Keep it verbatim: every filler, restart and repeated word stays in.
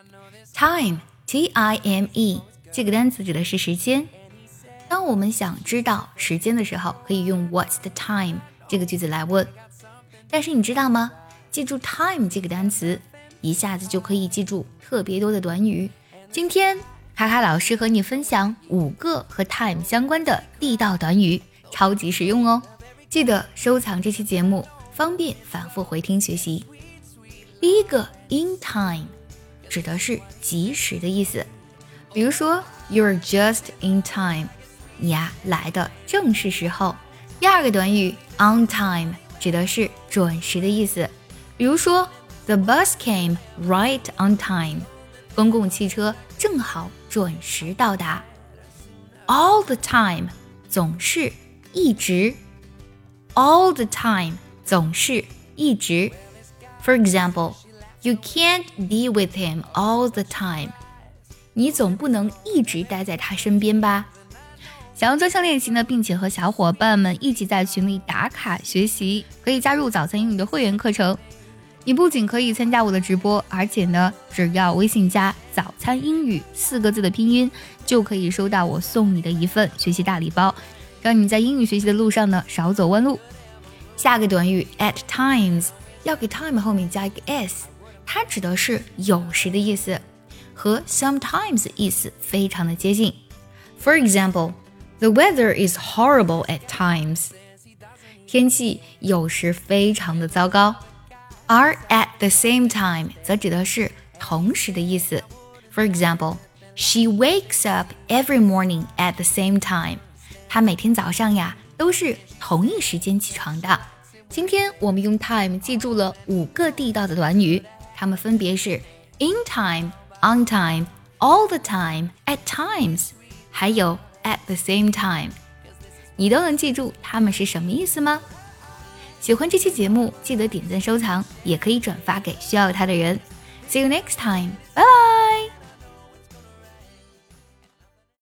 Time, T I M E 这个单词指的是时间。当我们想知道时间的时候，可以用 What's the time 这个句子来问。但是你知道吗？记住 time 这个单词，一下子就可以记住特别多的短语。今天卡卡老师和你分享五个和 time 相关的地道短语，超级实用哦。记得收藏这期节目，方便反复回听学习。第一个 in time 指的是及时的意思，比如说 You're just in time， 你呀来的正是时候。第二个短语 on time 指的是准时的意思，比如说 The bus came right on time， 公共汽车正好准时到达。 All the time 总是一直， All the time 总是一直。 For example, you can't be with him all the time， 你总不能一直待在他身边吧。想要专项练习呢，并且和小伙伴们一起在群里打卡学习，可以加入早餐英语的会员课程。你不仅可以参加我的直播，而且呢，只要微信加早餐英语四个字的拼音，就可以收到我送你的一份学习大礼包，让你在英语学习的路上呢少走弯路。下个短语 at times 要给 time 后面加一个 s， 它指的是有时的意思，和 sometimes 意思非常的接近。 For example,The weather is horrible at times. 天气有时非常的糟糕。而 at the same time 则指的是同时的意思。For example, she wakes up every morning at the same time. 她每天早上呀都是同一时间起床的。今天我们用 time 记住了五个地道的短语，它们分别是 in time, on time, all the time, at times， 还有At the same time， 你都能记住它们是什么意思吗？喜欢这期节目，记得点赞收藏，也可以转发给需要它的人。See you next time， 拜拜。